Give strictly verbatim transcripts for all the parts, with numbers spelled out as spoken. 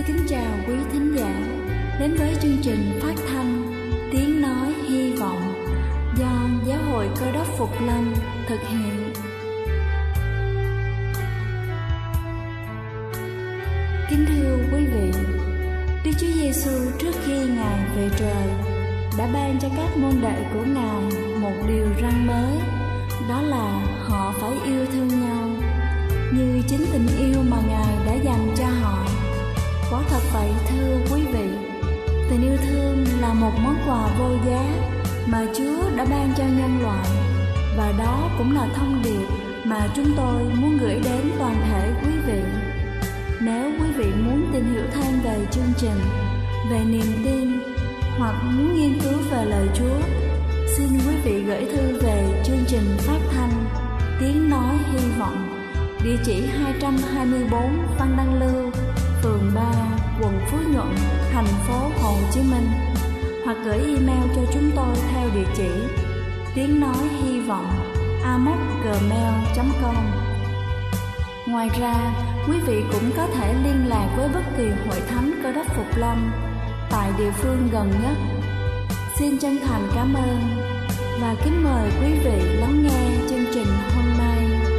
kính chào quý thính giả đến với chương trình phát thanh Tiếng Nói Hy Vọng do Giáo hội Cơ Đốc Phục Lâm thực hiện. Kính thưa quý vị, Đức Chúa Giêsu trước khi Ngài về trời đã ban cho các môn đệ của Ngài một điều răn mới, đó là họ phải yêu thương nhau như chính tình yêu mà Ngài đã dành cho họ. Quả thật vậy thưa quý vị, tình yêu thương là một món quà vô giá mà Chúa đã ban cho nhân loại, và đó cũng là thông điệp mà chúng tôi muốn gửi đến toàn thể quý vị. Nếu quý vị muốn tìm hiểu thêm về chương trình, về niềm tin hoặc muốn nghiên cứu về lời Chúa, xin quý vị gửi thư về chương trình phát thanh Tiếng Nói Hy Vọng, địa chỉ hai trăm hai mươi tư Văn Đăng Lưu, phường ba, quận Phú Nhuận, thành phố Hồ Chí Minh, hoặc gửi email cho chúng tôi theo địa chỉ tiếng nói hy vọng a m o c gmail chấm com. Ngoài ra, quý vị cũng có thể liên lạc với bất kỳ hội thánh Cơ Đốc Phục Lâm tại địa phương gần nhất. Xin chân thành cảm ơn và kính mời quý vị lắng nghe chương trình hôm nay.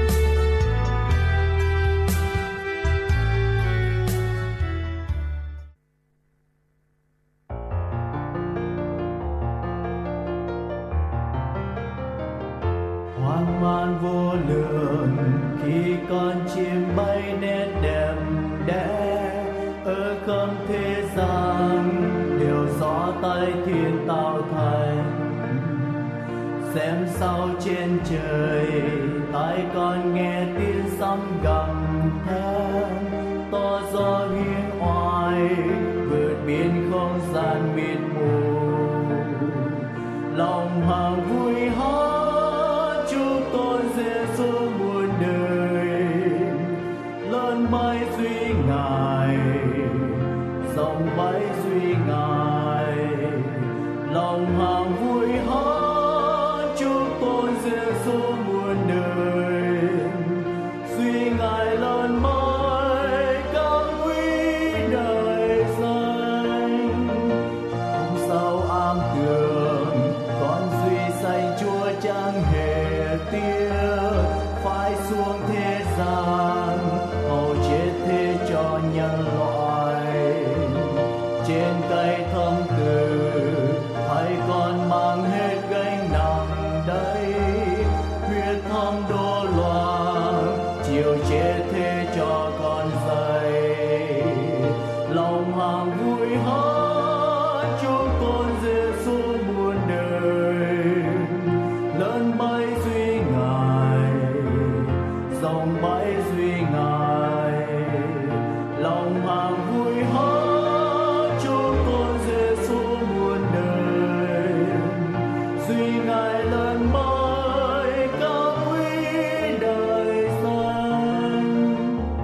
Hoang man vô lượng khi con chim bay nét đẹp đẽ ở khắp thế gian, đều do tay Thiên tạo thành. Xem sao trên trời, tai con nghe tiếng sấm gầm thét, to gió hiên oai vượt biên không gian mịt mù. Lòng hằng vui hát chúc tôi Giêsu muôn đời, lớn bay duy Ngài, rộng bay duy Ngài. Lòng hằng vui hát chúc tôi Giêsu muôn đời, duy Ngài lớn bay cao quý đời danh. Không sao am tường con duy sanh Chúa chẳng hề tiếc, phải xuống thế gian hầu chết thế cho nhân loại. Trên cây thâm tử hãy con mang hết gánh nặng đây, huyết thâm đổ loạn chiều chết thế cho con dày. Lòng hằng vui hát chúc con Giêsu muôn đời, lớn bay duy Ngài, rộng bay duy Ngài. Lòng hằng vui hát chúc con Giêsu muôn đời, duy Ngài lớn bay cao quý đời danh.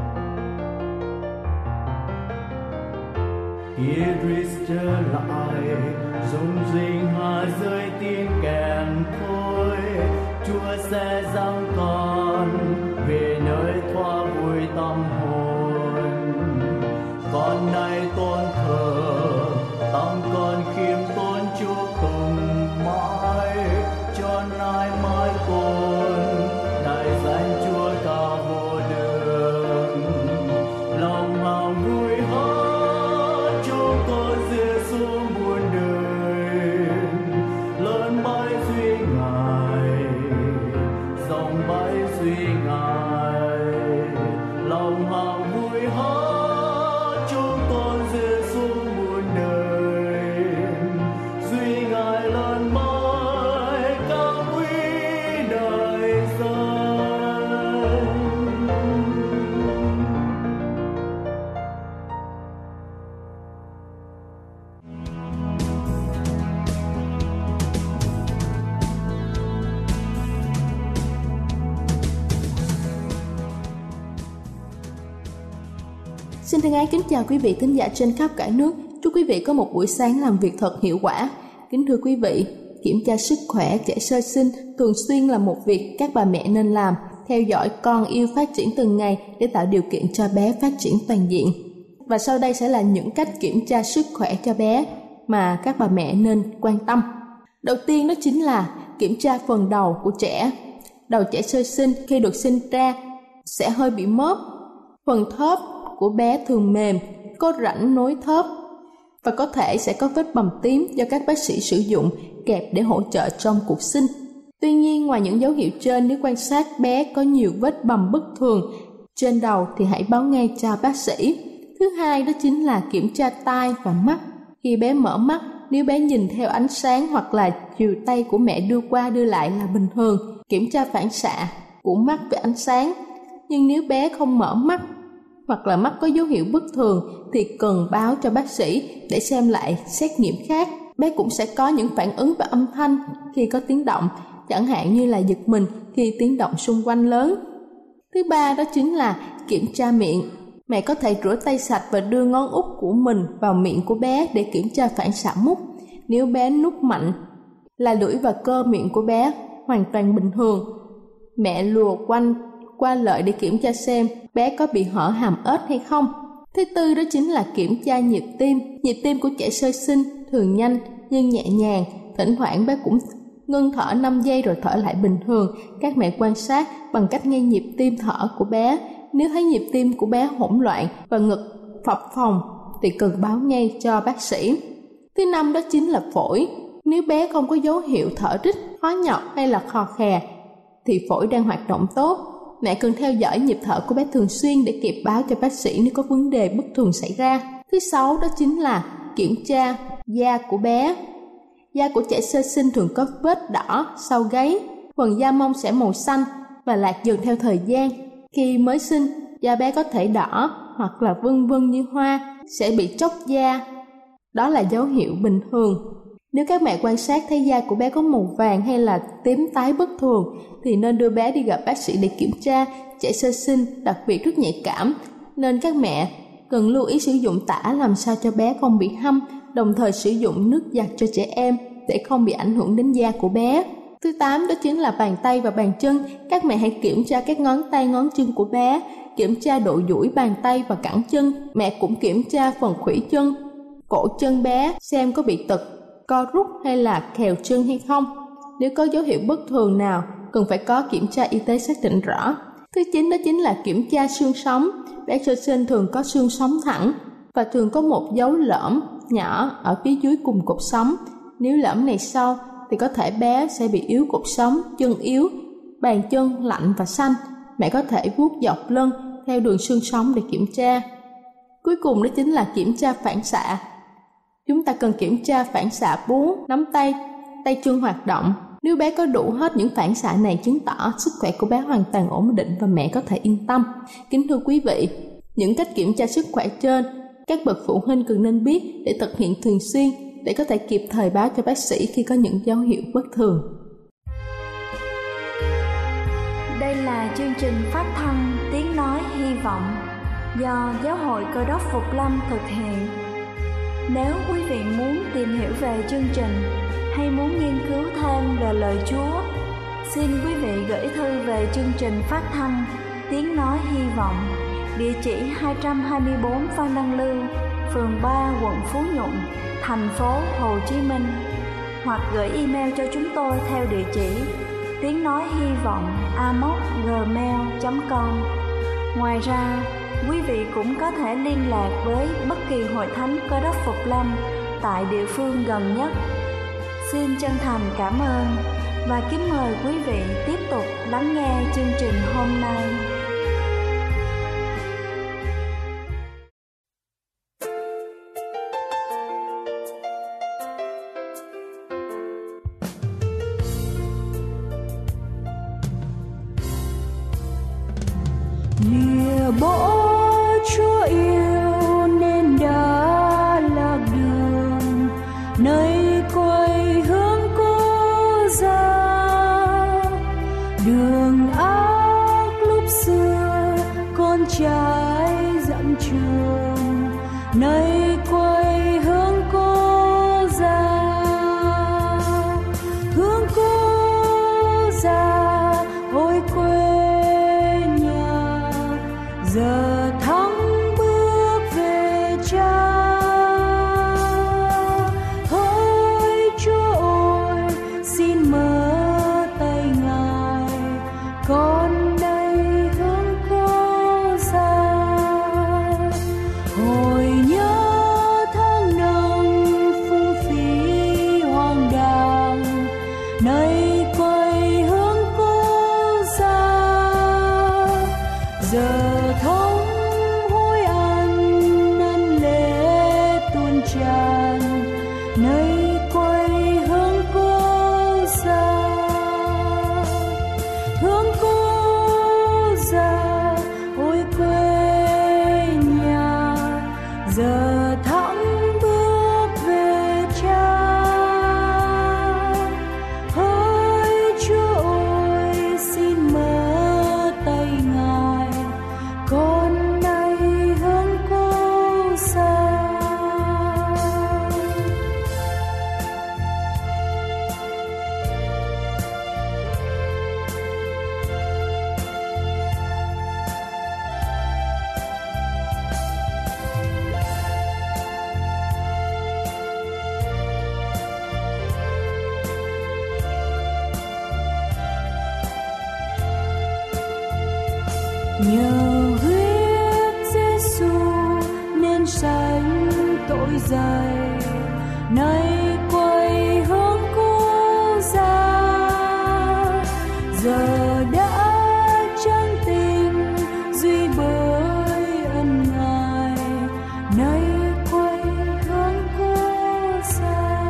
Khi Christ trở lại, rung rinh hạ rơi tiếng kèn thôi, Chúa sẽ giăng con về nơi thoa vui tâm hồn. Con nay tôn thờ, tâm con khiêm tốn chúc tùng mãi, cho nay mãi cồn đại danh Chúa cao vô đường. Lòng hằng vui hát chúc con Giêsu muôn đời, lớn bay duy Ngài, rộng bay duy Ngài. Lòng hằng vui hát chúc con Giêsu muôn đời, duy Ngài lớn bay cao quý đời danh. Xin thân ái kính chào quý vị thính giả trên khắp cả nước. Chúc quý vị có một buổi sáng làm việc thật hiệu quả. Kính thưa quý vị, kiểm tra sức khỏe trẻ sơ sinh thường xuyên là một việc các bà mẹ nên làm, theo dõi con yêu phát triển từng ngày để tạo điều kiện cho bé phát triển toàn diện. Và sau đây sẽ là những cách kiểm tra sức khỏe cho bé mà các bà mẹ nên quan tâm. Đầu tiên đó chính là kiểm tra phần đầu của trẻ. Đầu trẻ sơ sinh khi được sinh ra sẽ hơi bị móp. Phần thớp của bé thường mềm, có rãnh nối thớp và có thể sẽ có vết bầm tím do các bác sĩ sử dụng kẹp để hỗ trợ trong cuộc sinh. Tuy nhiên, ngoài những dấu hiệu trên, nếu quan sát bé có nhiều vết bầm bất thường trên đầu thì hãy báo ngay cho bác sĩ. Thứ hai đó chính là kiểm tra tai và mắt. Khi bé mở mắt, nếu bé nhìn theo ánh sáng hoặc là chiều tay của mẹ đưa qua đưa lại là bình thường. Kiểm tra phản xạ của mắt với ánh sáng. Nhưng nếu bé không mở mắt hoặc là mắt có dấu hiệu bất thường thì cần báo cho bác sĩ để xem lại xét nghiệm khác. Bé cũng sẽ có những phản ứng về âm thanh khi có tiếng động, chẳng hạn như là giật mình khi tiếng động xung quanh lớn. Thứ ba đó chính là kiểm tra miệng. Mẹ có thể rửa tay sạch và đưa ngón út của mình vào miệng của bé để kiểm tra phản xạ mút. Nếu bé nuốt mạnh là lưỡi và cơ miệng của bé hoàn toàn bình thường. Mẹ lùa quanh qua lợi để kiểm tra xem bé có bị hở hàm ếch hay không. Thứ tư đó chính là kiểm tra nhịp tim. Nhịp tim của trẻ sơ sinh thường nhanh nhưng nhẹ nhàng. Thỉnh thoảng bé cũng ngưng thở năm giây rồi thở lại bình thường. Các mẹ quan sát bằng cách nghe nhịp tim thở của bé. Nếu thấy nhịp tim của bé hỗn loạn và ngực phập phồng thì cần báo ngay cho bác sĩ. Thứ năm đó chính là phổi. Nếu bé không có dấu hiệu thở rít, khó nhọc hay là khò khè thì phổi đang hoạt động tốt. Mẹ cần theo dõi nhịp thở của bé thường xuyên để kịp báo cho bác sĩ nếu có vấn đề bất thường xảy ra. Thứ sáu đó chính là kiểm tra da của bé. Da của trẻ sơ sinh thường có vết đỏ sau gáy. Phần da mông sẽ màu xanh và lạc dần theo thời gian. Khi mới sinh, da bé có thể đỏ hoặc là vân vân như hoa, sẽ bị tróc da. Đó là dấu hiệu bình thường. Nếu các mẹ quan sát thấy da của bé có màu vàng hay là tím tái bất thường thì nên đưa bé đi gặp bác sĩ để kiểm tra. Trẻ sơ sinh đặc biệt rất nhạy cảm nên các mẹ cần lưu ý sử dụng tã làm sao cho bé không bị hăm, đồng thời sử dụng nước giặt cho trẻ em để không bị ảnh hưởng đến da của bé. Thứ tám đó chính là bàn tay và bàn chân. Các mẹ hãy kiểm tra các ngón tay ngón chân của bé, kiểm tra độ duỗi bàn tay và cẳng chân. Mẹ cũng kiểm tra phần khuỷu chân, cổ chân bé xem có bị tật, co rút hay là khèo chân hay không. Nếu có dấu hiệu bất thường nào cần phải có kiểm tra y tế xác định rõ. Thứ chín đó chính là kiểm tra xương sống. Bé sơ sinh thường có xương sống thẳng và thường có một dấu lõm nhỏ ở phía dưới cùng cột sống. Nếu lõm này sâu thì có thể bé sẽ bị yếu cột sống, chân yếu, bàn chân lạnh và xanh. Mẹ có thể vuốt dọc lưng theo đường xương sống để kiểm tra. Cuối cùng đó chính là kiểm tra phản xạ. Chúng ta cần kiểm tra phản xạ bú, nắm tay, tay chân hoạt động. Nếu bé có đủ hết những phản xạ này chứng tỏ sức khỏe của bé hoàn toàn ổn định và mẹ có thể yên tâm. Kính thưa quý vị, những cách kiểm tra sức khỏe trên, các bậc phụ huynh cần nên biết để thực hiện thường xuyên để có thể kịp thời báo cho bác sĩ khi có những dấu hiệu bất thường. Đây là chương trình phát thanh Tiếng Nói Hy Vọng do Giáo hội Cơ đốc Phục Lâm thực hiện. Nếu quý vị muốn tìm hiểu về chương trình hay muốn nghiên cứu thêm về lời Chúa, xin quý vị gửi thư về chương trình phát thanh Tiếng Nói Hy Vọng, địa chỉ hai trăm hai mươi bốn Phan Đăng Lưu, phường ba, quận Phú Nhuận, thành phố Hồ Chí Minh, hoặc gửi email cho chúng tôi theo địa chỉ tiếng nói hy vọng a m o c gmail chấm com. Ngoài ra, quý vị cũng có thể liên lạc với bất kỳ hội thánh Cơ đốc Phục Lâm tại địa phương gần nhất. Xin chân thành cảm ơn và kính mời quý vị tiếp tục lắng nghe chương trình hôm nay. Lìa bỏ Chúa yêu nên đã lạc đường, nay quay hướng cố ra. Đường ác lúc xưa con trai dặm trường, nay quay hướng cố ra. Hướng cố ra ôi quê nhà, giờ thắng bước về nhờ huyết Giêsu nên sánh tội dày, nay quay hướng cứu ra, giờ đã chân tình duy bởi ân Ngài, nay quay hướng cứu ra.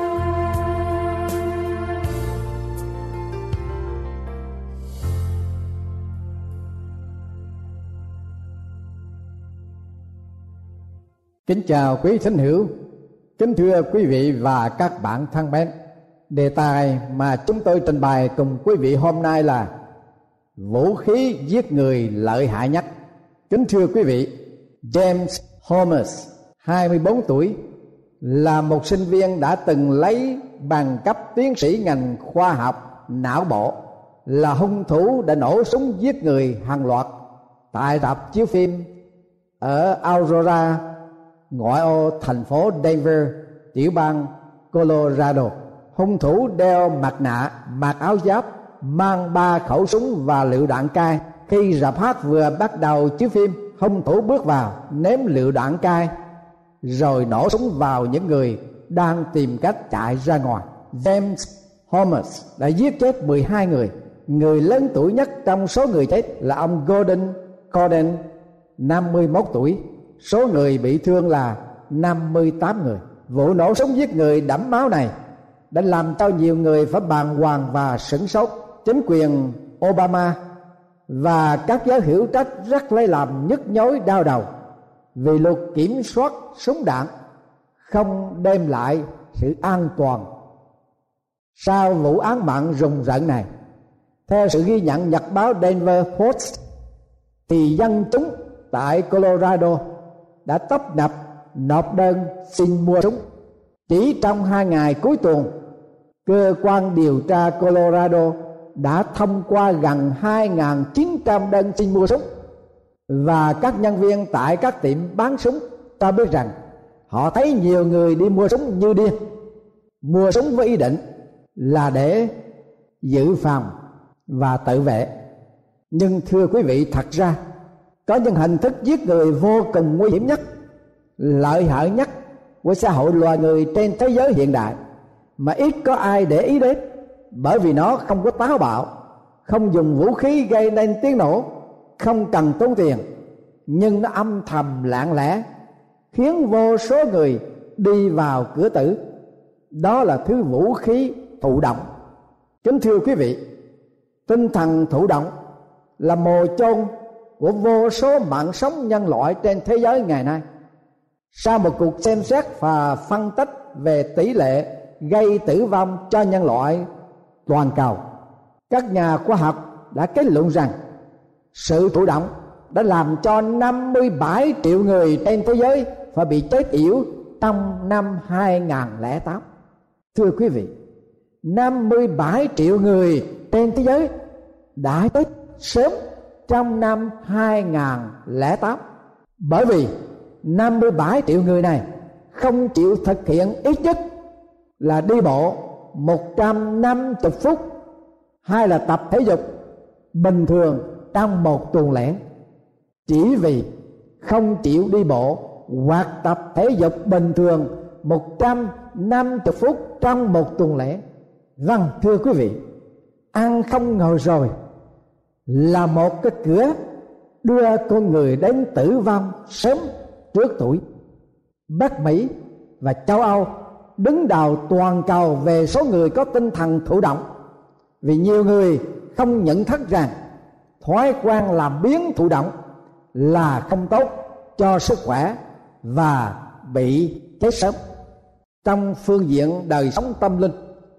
Kính chào quý thính hữu, kính thưa quý vị và các bạn thân mến. Đề tài mà chúng tôi trình bày cùng quý vị hôm nay là vũ khí giết người lợi hại nhất. Kính thưa quý vị, James Holmes, hai mươi bốn tuổi, là một sinh viên đã từng lấy bằng cấp tiến sĩ ngành khoa học não bộ, là hung thủ đã nổ súng giết người hàng loạt tại rạp chiếu phim ở Aurora, ngoại ô thành phố Denver, tiểu bang Colorado. Hung thủ đeo mặt nạ, mặc áo giáp, mang ba khẩu súng và lựu đạn cay. Khi rạp hát vừa bắt đầu chiếu phim, hung thủ bước vào, ném lựu đạn cay, rồi nổ súng vào những người đang tìm cách chạy ra ngoài. James Holmes đã giết chết mười hai người. Người lớn tuổi nhất trong số người chết là ông Gordon Corden, năm mươi mốt tuổi. Số người bị thương là năm mươi tám người. Vụ nổ súng giết người đẫm máu này đã làm cho nhiều người phải bàng hoàng và sửng sốt. Chính quyền Obama và các giới hữu trách rất lấy làm nhức nhối đau đầu vì luật kiểm soát súng đạn không đem lại sự an toàn. Sau vụ án mạng rùng rợn này, theo sự ghi nhận nhật báo Denver Post, thì dân chúng tại Colorado đã tấp nập nộp đơn xin mua súng. Chỉ trong hai ngày cuối tuần, cơ quan điều tra Colorado đã thông qua gần hai nghìn chín trăm đơn xin mua súng, và các nhân viên tại các tiệm bán súng ta biết rằng họ thấy nhiều người đi mua súng như điên, mua súng với ý định là để dự phòng và tự vệ. Nhưng thưa quý vị, thật ra có những hình thức giết người vô cùng nguy hiểm nhất, lợi hại nhất của xã hội loài người trên thế giới hiện đại mà ít có ai để ý đến, bởi vì nó không có táo bạo, không dùng vũ khí gây nên tiếng nổ, không cần tốn tiền, nhưng nó âm thầm lặng lẽ khiến vô số người đi vào cửa tử. Đó là thứ vũ khí thụ động. Kính thưa quý vị, tinh thần thụ động là mồ chôn của vô số mạng sống nhân loại trên thế giới ngày nay. Sau một cuộc xem xét và phân tích về tỷ lệ gây tử vong cho nhân loại toàn cầu, các nhà khoa học đã kết luận rằng sự thụ động đã làm cho năm mươi bảy triệu người trên thế giới phải bị chết yểu trong năm hai không không tám. Thưa quý vị, năm mươi bảy triệu người trên thế giới đã chết sớm trong năm hai không không tám, bởi vì năm mươi bảy triệu người này không chịu thực hiện ít nhất là đi bộ một trăm năm mươi phút hay là tập thể dục bình thường trong một tuần lễ. Chỉ vì không chịu đi bộ hoặc tập thể dục bình thường một trăm năm mươi phút trong một tuần lễ. Vâng, thưa quý vị, ăn không ngồi rồi là một cái cửa đưa con người đến tử vong sớm trước tuổi. Bắc Mỹ và châu Âu đứng đầu toàn cầu về số người có tinh thần thụ động, vì nhiều người không nhận thức rằng thói quen làm biếng thụ động là không tốt cho sức khỏe và bị chết sớm. Trong phương diện đời sống tâm linh,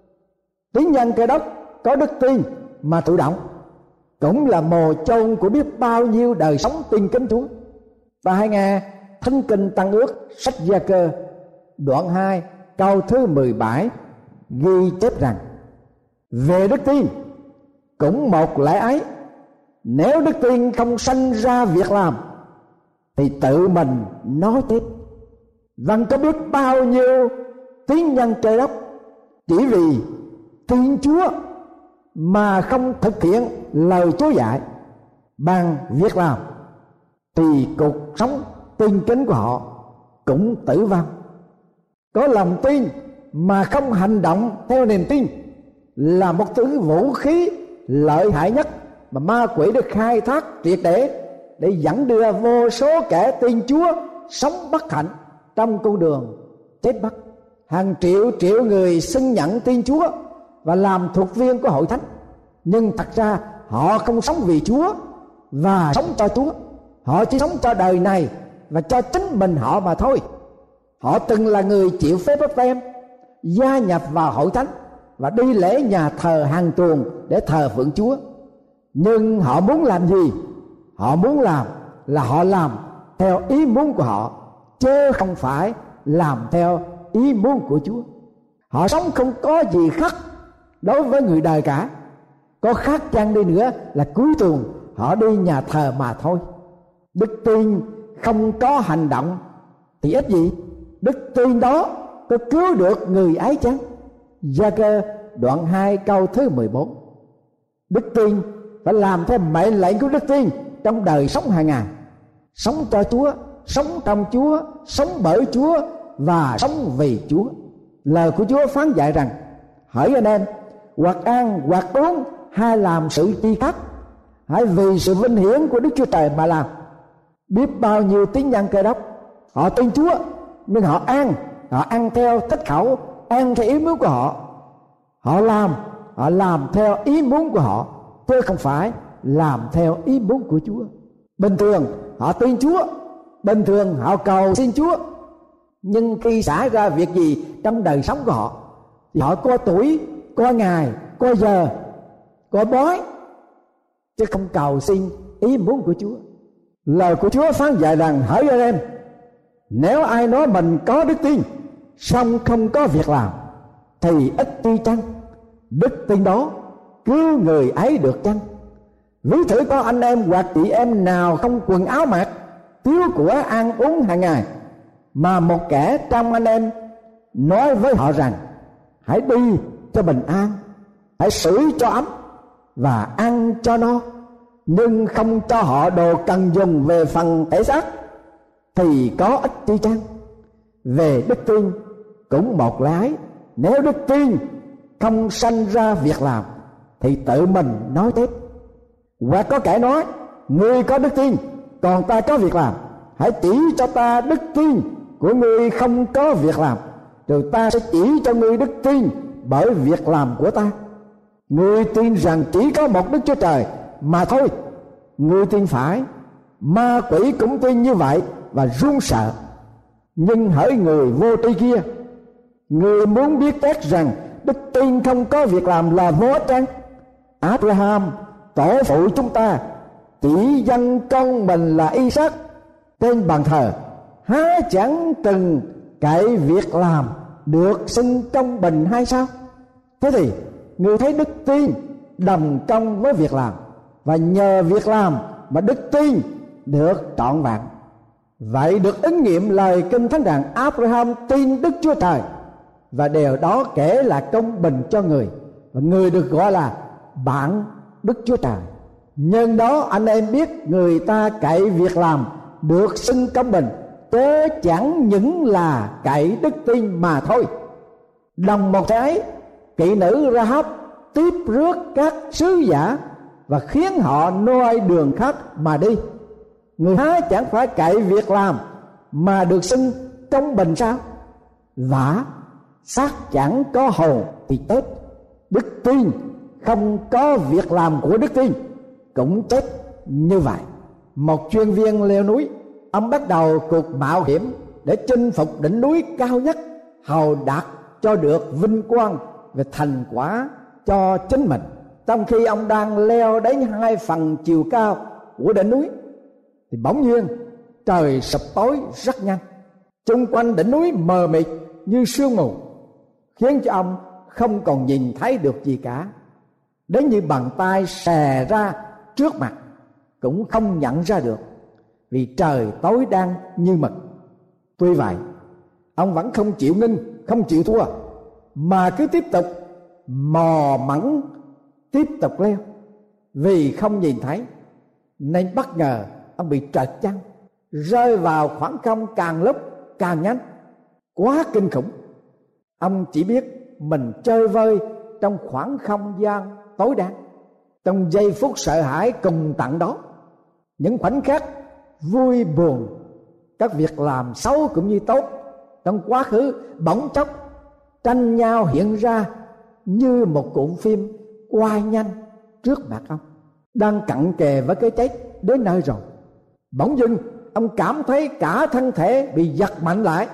tín nhân Cơ Đốc có đức tin mà thụ động cũng là mồ chôn của biết bao nhiêu đời sống tin kính Chúa. Và hãy nghe Thánh Kinh Tăng Ước sách Gia Cơ đoạn hai câu thứ mười bảy ghi chép rằng: về đức tin cũng một lẽ ấy, nếu đức tin không sanh ra việc làm thì tự mình nói chết. Vâng, có biết bao nhiêu tín nhân Trời Đất chỉ vì tin Chúa mà không thực hiện lời Chúa dạy, bằng việc làm thì cuộc sống tin kính của họ cũng tử vong. Có lòng tin mà không hành động theo niềm tin là một thứ vũ khí lợi hại nhất mà ma quỷ được khai thác triệt để để dẫn đưa vô số kẻ tin Chúa sống bất hạnh trong con đường chết mất. Hàng triệu triệu người xưng nhận tin Chúa và làm thuộc viên của hội thánh, nhưng thật ra họ không sống vì Chúa và sống cho Chúa. Họ chỉ sống cho đời này và cho chính mình họ mà thôi. Họ từng là người chịu phép báp têm, gia nhập vào hội thánh và đi lễ nhà thờ hàng tuần để thờ phượng Chúa. Nhưng họ muốn làm gì? Họ muốn làm là họ làm theo ý muốn của họ, chứ không phải làm theo ý muốn của Chúa. Họ sống không có gì khác đối với người đời cả. Có khác chăng đi nữa là cuối tuần họ đi nhà thờ mà thôi. Đức tin không có hành động thì ít gì? Đức tin đó có cứu được người ấy chăng? Gia-cơ đoạn hai câu thứ mười bốn. Đức tin phải làm theo mệnh lệnh của đức tin trong đời sống hàng ngày. Sống cho Chúa, sống trong Chúa, sống bởi Chúa và sống vì Chúa. Lời của Chúa phán dạy rằng: hỡi anh em, hoặc ăn hoặc uống hay làm sự chi khác, hãy vì sự vinh hiển của Đức Chúa Trời mà làm. Biết bao nhiêu tín nhân Cơ Đốc họ tin Chúa, nhưng họ ăn họ ăn theo thích khẩu, ăn theo ý muốn của họ. Họ làm họ làm theo ý muốn của họ, chứ không phải làm theo ý muốn của Chúa. Bình thường họ tin Chúa, bình thường họ cầu xin Chúa, nhưng khi xảy ra việc gì trong đời sống của họ thì họ có tuổi, có ngày, có giờ, có bói, chứ không cầu xin ý muốn của Chúa. Lời của Chúa phán dạy rằng: hỡi anh em, nếu ai nói mình có đức tin song không có việc làm thì ít chi chăng? Đức tin đó cứu người ấy được chăng? Ví thử có anh em hoặc chị em nào không quần áo mặc, thiếu của ăn uống hàng ngày, mà một kẻ trong anh em nói với họ rằng: hãy đi cho bình an, hãy sưởi cho ấm và ăn cho no, nhưng không cho họ đồ cần dùng về phần thể xác, thì có ích chi chăng? Về đức tin cũng một lái, nếu đức tin không sanh ra việc làm thì tự mình nói tiếp. Hoặc có kẻ nói: ngươi có đức tin, còn ta có việc làm, hãy chỉ cho ta đức tin của ngươi không có việc làm, rồi ta sẽ chỉ cho ngươi đức tin bởi việc làm của ta. Ngươi tin rằng chỉ có một Đức Chúa Trời mà thôi. Ngươi tin phải, ma quỷ cũng tin như vậy và run sợ. Nhưng hỡi người vô tri kia, ngươi muốn biết chắc rằng đức tin không có việc làm là vô ích chăng? Abraham tổ phụ chúng ta chỉ dâng con mình là Isaac trên bàn thờ, há chẳng từng cậy việc làm được xưng công bình hay sao? Thế thì người thấy đức tin đồng công với việc làm, và nhờ việc làm mà đức tin được trọn vẹn. Vậy được ứng nghiệm lời Kinh Thánh rằng Abraham tin Đức Chúa Trời, và điều đó kể là công bình cho người, và người được gọi là bạn Đức Chúa Trời. Nhân đó anh em biết người ta cậy việc làm được xưng công bình, chớ chẳng những là cậy đức tin mà thôi. Đồng một cái, kỵ nữ Ra-háp tiếp rước các sứ giả và khiến họ noi đường khác mà đi. Người há chẳng phải cậy việc làm mà được xưng công bình sao? Vả xác chẳng có hồn thì chết. Đức tin không có việc làm của đức tin cũng chết như vậy. Một chuyên viên leo núi, ông bắt đầu cuộc mạo hiểm để chinh phục đỉnh núi cao nhất, hầu đạt cho được vinh quang về thành quả cho chính mình. Trong khi ông đang leo đến hai phần chiều cao của đỉnh núi thì bỗng nhiên trời sập tối rất nhanh. Chung quanh đỉnh núi mờ mịt như sương mù, khiến cho ông không còn nhìn thấy được gì cả. Đến như bàn tay xè ra trước mặt cũng không nhận ra được, vì trời tối đen như mực. Tuy vậy, ông vẫn không chịu ngưng, không chịu thua, mà cứ tiếp tục mò mẫm tiếp tục leo, vì không nhìn thấy. nên bất ngờ ông bị trật chân, rơi vào khoảng không càng lúc càng nhanh, quá kinh khủng. Ông chỉ biết mình chơi vơi trong khoảng không gian tối đen. Trong giây phút sợ hãi cùng tận đó, những khoảnh khắc vui buồn, các việc làm xấu cũng như tốt trong quá khứ bỗng chốc tranh nhau hiện ra như một cuộn phim quay nhanh trước mặt ông, đang cận kề với cái chết đến nơi rồi. Bỗng dưng ông cảm thấy cả thân thể bị giật mạnh lại,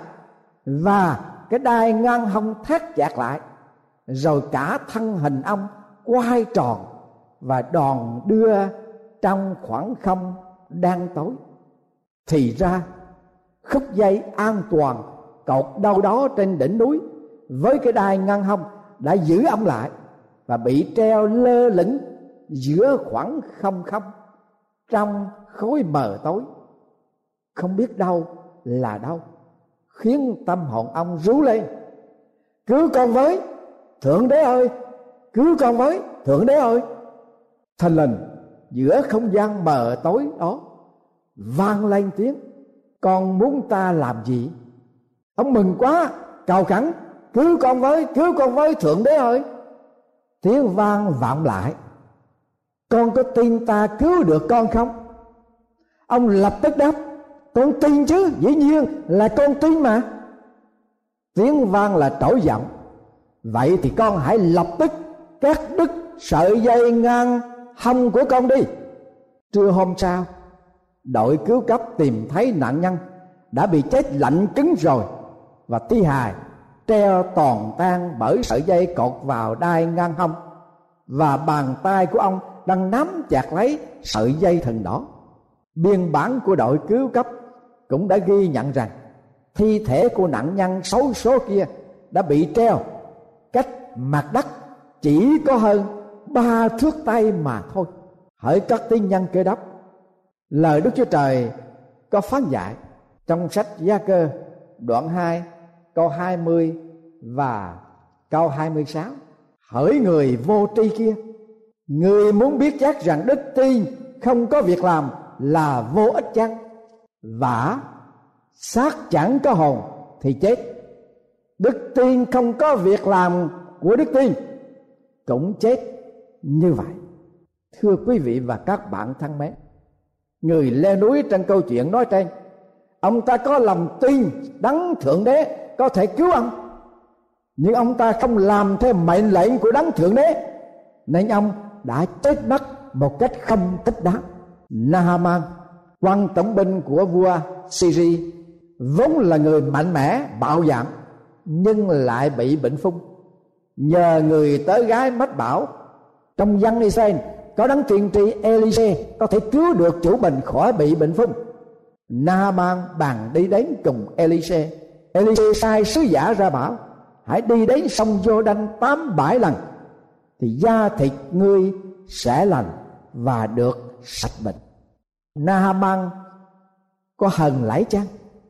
và cái đai ngang hông thắt chặt lại, rồi cả thân hình ông quay tròn và đòn đưa trong khoảng không đang tối. Thì ra khúc dây an toàn cột đâu đó trên đỉnh núi với cái đai ngăn hông đã giữ ông lại và bị treo lơ lửng giữa khoảng không không trong khối mờ tối, không biết đâu là đâu, khiến tâm hồn ông rú lên: cứu con với, Thượng Đế ơi, cứu con với, Thượng Đế ơi. Thình lình giữa không gian mờ tối đó vang lên tiếng: con muốn ta làm gì? Ông mừng quá, cầu khẩn: cứu con với, cứu con với, Thượng Đế ơi. Tiếng vang vọng lại: con có tin ta cứu được con không? Ông lập tức đáp: con tin chứ, dĩ nhiên là con tin mà. Tiếng vang là trỗi giọng: vậy thì con hãy lập tức cắt đứt sợi dây ngang hông của con đi. Trưa hôm sau, đội cứu cấp tìm thấy nạn nhân đã bị chết lạnh cứng rồi, và thi hài treo toàn tan bởi sợi dây cột vào đai ngang hông, và bàn tay của ông đang nắm chặt lấy sợi dây thừng đó. Biên bản của đội cứu cấp cũng đã ghi nhận rằng thi thể của nạn nhân xấu số kia đã bị treo cách mặt đất chỉ có hơn ba thước tay mà thôi. Hỡi các tín nhân Cơ Đốc, lời Đức Chúa Trời có phán dạy trong sách Gia-cơ đoạn hai câu hai mươi và câu hai mươi sáu: hỡi người vô tri kia, người muốn biết chắc rằng đức tin không có việc làm là vô ích chăng? Vả xác chẳng có hồn thì chết. Đức tin không có việc làm của đức tin cũng chết như vậy. Thưa quý vị và các bạn thân mến, người leo núi trong câu chuyện nói trên, ông ta có lòng tin đấng Thượng Đế có thể cứu ông, nhưng ông ta không làm theo mệnh lệnh của đấng Thượng Đế, nên ông đã chết mất một cách không thích đáng. Naaman, quan tổng binh của vua Syria, vốn là người mạnh mẽ bạo dạn, nhưng lại bị bệnh phung. Nhờ người tớ gái mách bảo trong dân Israel có đấng tiên tri Elise có thể cứu được chủ mình khỏi bị bệnh phung. Naaman bàn đi đến cùng Elise. Elise sai sứ giả ra bảo: hãy đi đến sông Giô-đanh tám bảy lần thì da thịt ngươi sẽ lành và được sạch bệnh. Naaman có hờn lãi chăng?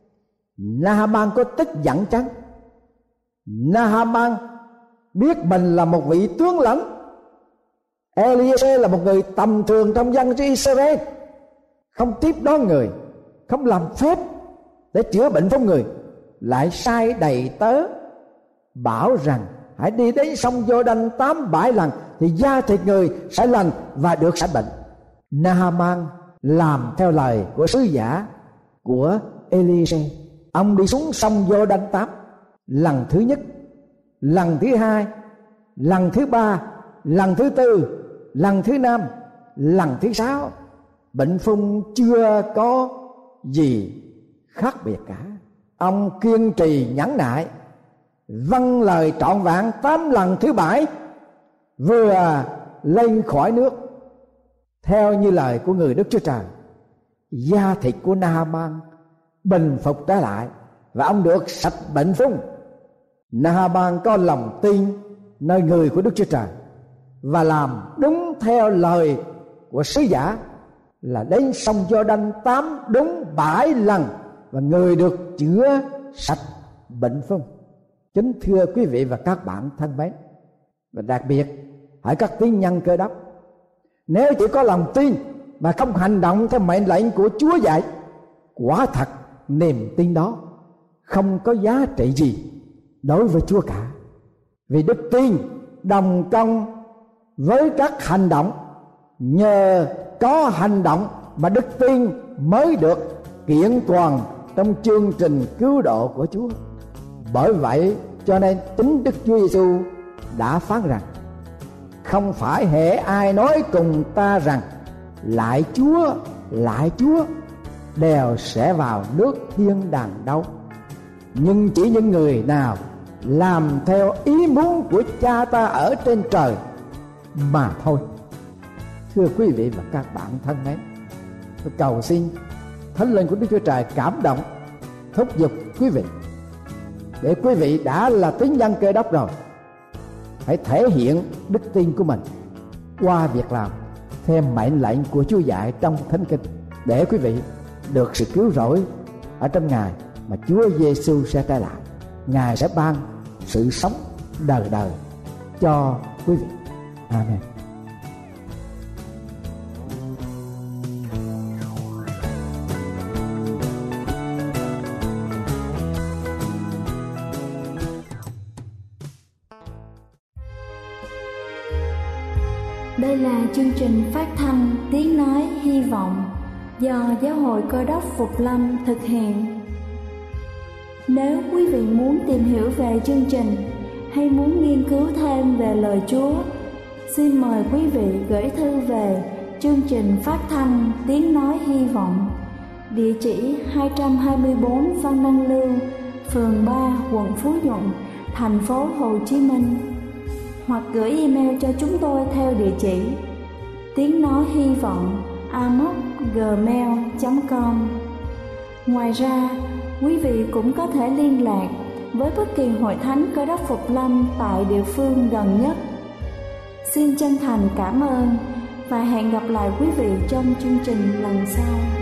Naaman có tức giận chăng? Naaman biết mình là một vị tướng lãnh. Elise là một người tầm thường trong dân Israel, không tiếp đón người, không làm phép để chữa bệnh cho người, lại sai đầy tớ bảo rằng hãy đi đến sông Giô-đanh tám bảy lần thì da thịt người sẽ lành và được sạch bệnh. Naaman làm theo lời của sứ giả của Elise. Ông đi xuống sông Giô-đanh tám lần thứ nhất, lần thứ hai, lần thứ ba, lần thứ tư, lần thứ năm, lần thứ sáu. Bệnh phung chưa có gì khác biệt cả. Ông kiên trì nhẫn nại, vâng lời trọn vẹn tám lần thứ bảy, vừa lên khỏi nước theo như lời của người Đức Chúa Trời. Da thịt của Naaman bình phục trở lại và ông được sạch bệnh phung. Naaman có lòng tin nơi người của Đức Chúa Trời và làm đúng theo lời của sứ giả, là đến sông Giô-đanh tám đúng bảy lần và người được chữa sạch bệnh phung. Kính thưa quý vị và các bạn thân mến, và đặc biệt hỡi các tín nhân Cơ Đốc, nếu chỉ có lòng tin mà không hành động theo mệnh lệnh của Chúa dạy, quả thật niềm tin đó không có giá trị gì đối với Chúa cả. Vì đức tin đồng công với các hành động, nhờ có hành động mà đức tin mới được kiện toàn trong chương trình cứu độ của Chúa. Bởi vậy cho nên chính Đức Chúa Giêsu đã phán rằng: không phải hễ ai nói cùng ta rằng lại Chúa, lại Chúa, đều sẽ vào nước thiên đàng đâu, nhưng chỉ những người nào làm theo ý muốn của Cha ta ở trên trời mà thôi. Thưa quý vị và các bạn thân mến, tôi cầu xin Thánh Linh của Đức Chúa Trời cảm động, thúc giục quý vị, để quý vị đã là tín nhân Cơ Đốc rồi, hãy thể hiện đức tin của mình qua việc làm theo mệnh lệnh của Chúa dạy trong Thánh Kinh, để quý vị được sự cứu rỗi ở trong ngày mà Chúa Giêsu sẽ trở lại. Ngài sẽ ban sự sống đời đời cho quý vị. Amen. Đây là chương trình phát thanh Tiếng Nói Hy Vọng do Giáo hội Cơ Đốc Phục Lâm thực hiện. Nếu quý vị muốn tìm hiểu về chương trình hay muốn nghiên cứu thêm về lời Chúa, xin mời quý vị gửi thư về chương trình phát thanh Tiếng Nói Hy Vọng, địa chỉ hai trăm hai mươi bốn Văn Đăng Lưu, phường ba, quận Phú Nhuận, thành phố Hồ Chí Minh, hoặc gửi email cho chúng tôi theo địa chỉ tiếng nói hy vọng a m o c gmail chấm com. Ngoài ra, quý vị cũng có thể liên lạc với bất kỳ hội thánh Cơ Đốc Phục Lâm tại địa phương gần nhất. Xin chân thành cảm ơn và hẹn gặp lại quý vị trong chương trình lần sau.